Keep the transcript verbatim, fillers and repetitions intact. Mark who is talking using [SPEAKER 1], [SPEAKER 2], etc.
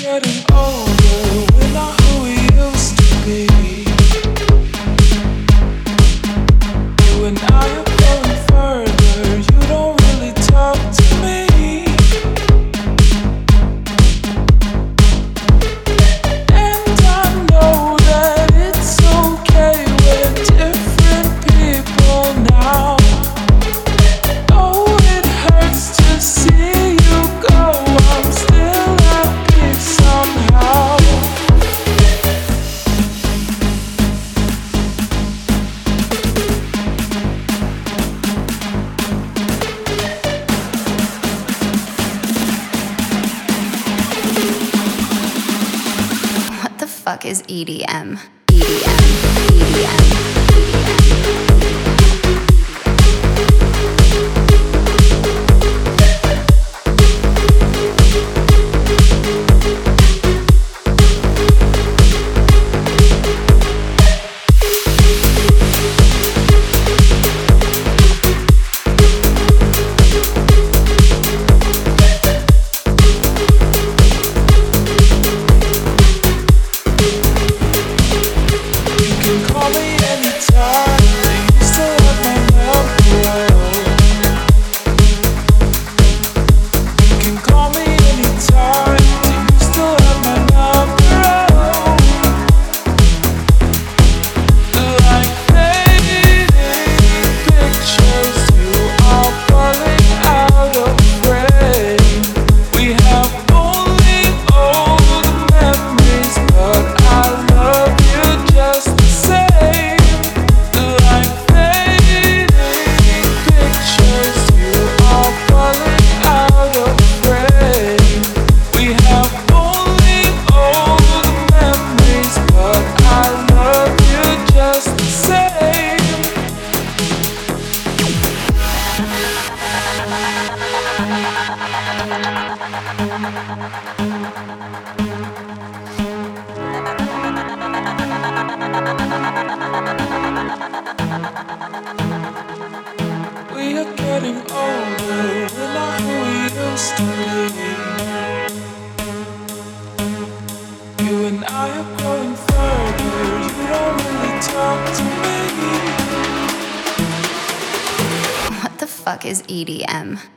[SPEAKER 1] getting older, we're not who we used to be. You and I are going further, you don't really talk to me. And I know that it's okay, we're different people now. Oh, it hurts to see you go, I'm still happy somehow.
[SPEAKER 2] What the fuck is E D M? E D M, E D M, E D M.
[SPEAKER 1] Call me anytime, you still have my number. You can call me anytime, you still have my number. Like fading pictures, you are falling out of frame. We have only old memories, but I love you just the same. We are getting older, we're not who we used to be. You and I are growing further, you don't really talk to me.
[SPEAKER 2] What the fuck is E D M?